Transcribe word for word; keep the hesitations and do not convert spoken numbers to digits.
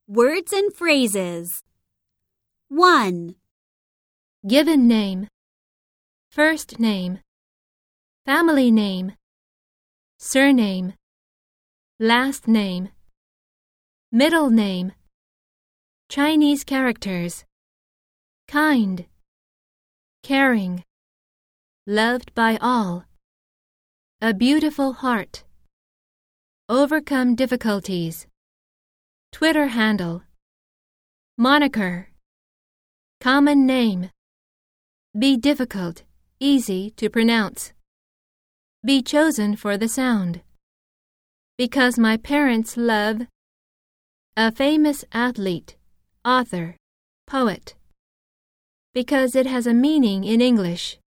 Words and phrases. one. Given name, first name, family name, surname, last name, middle name, Chinese characters, kind, caring, loved by all, a beautiful heart, overcome difficulties, Twitter handle, moniker, common name, be difficult, easy to pronounce, be chosen for the sound, because my parents love, a famous athlete, author, poet, because it has a meaning in English.